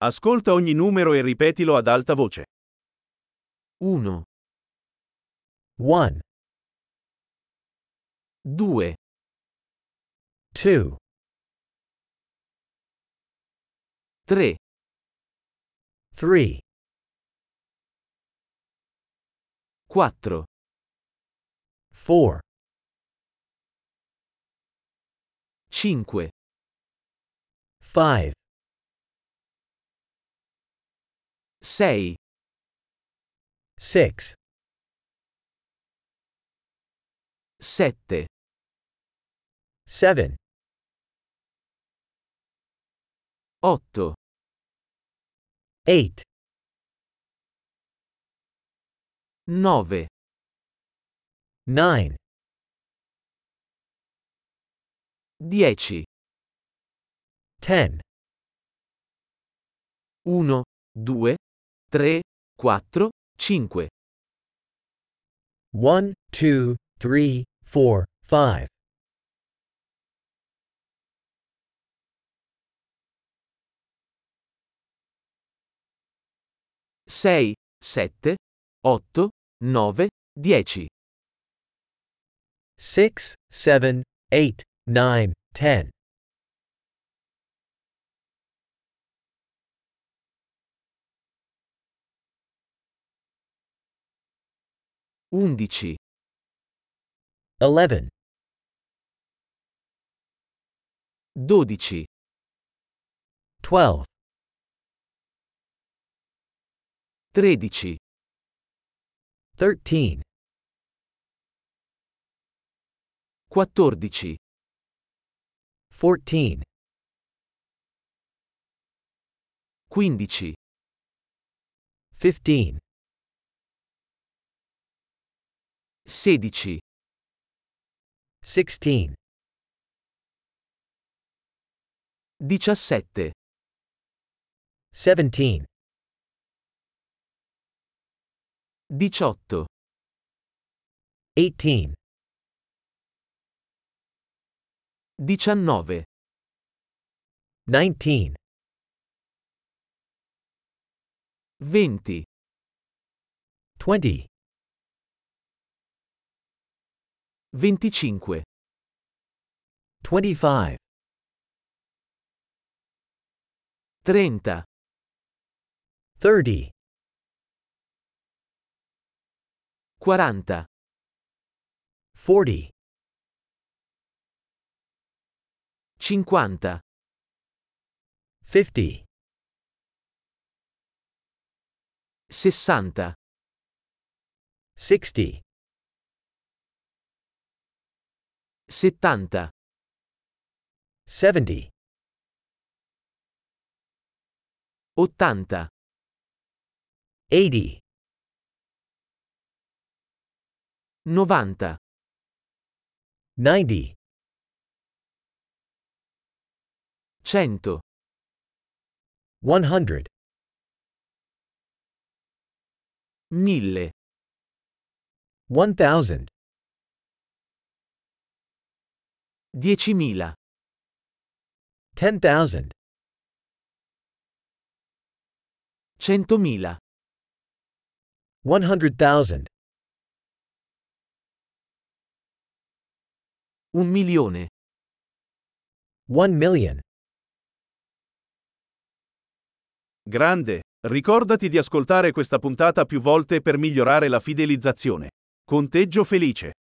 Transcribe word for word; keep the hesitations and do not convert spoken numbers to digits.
Ascolta ogni numero e ripetilo ad alta voce. uno, one, due, two, tre, three, quattro, four, cinque, five, sei, six, sette, seven, otto, eight, nove, nine, dieci, ten, uno, due, tre, quattro, cinque, one, two, three, four, five, sei, sette, otto, nove, dieci, six, seven, eight, nine, ten, undici, eleven, dodici, twelve, tredici, thirteen, quattordici, fourteen, quindici, fifteen, sedici, sixteen, diciassette, seventeen, diciotto, eighteen, diciannove, nineteen, venti, twenty, venticinque, twenty-five, trenta, thirty, quaranta, forty, cinquanta, fifty, sessanta, sixty, settanta, seventy, ottanta, eighty, novanta, ninety, cento, one hundred, mille, one thousand, diecimila, ten thousand, centomila, one hundred thousand, un milione. one million. Grande, ricordati di ascoltare questa puntata più volte per migliorare la fidelizzazione. Conteggio felice.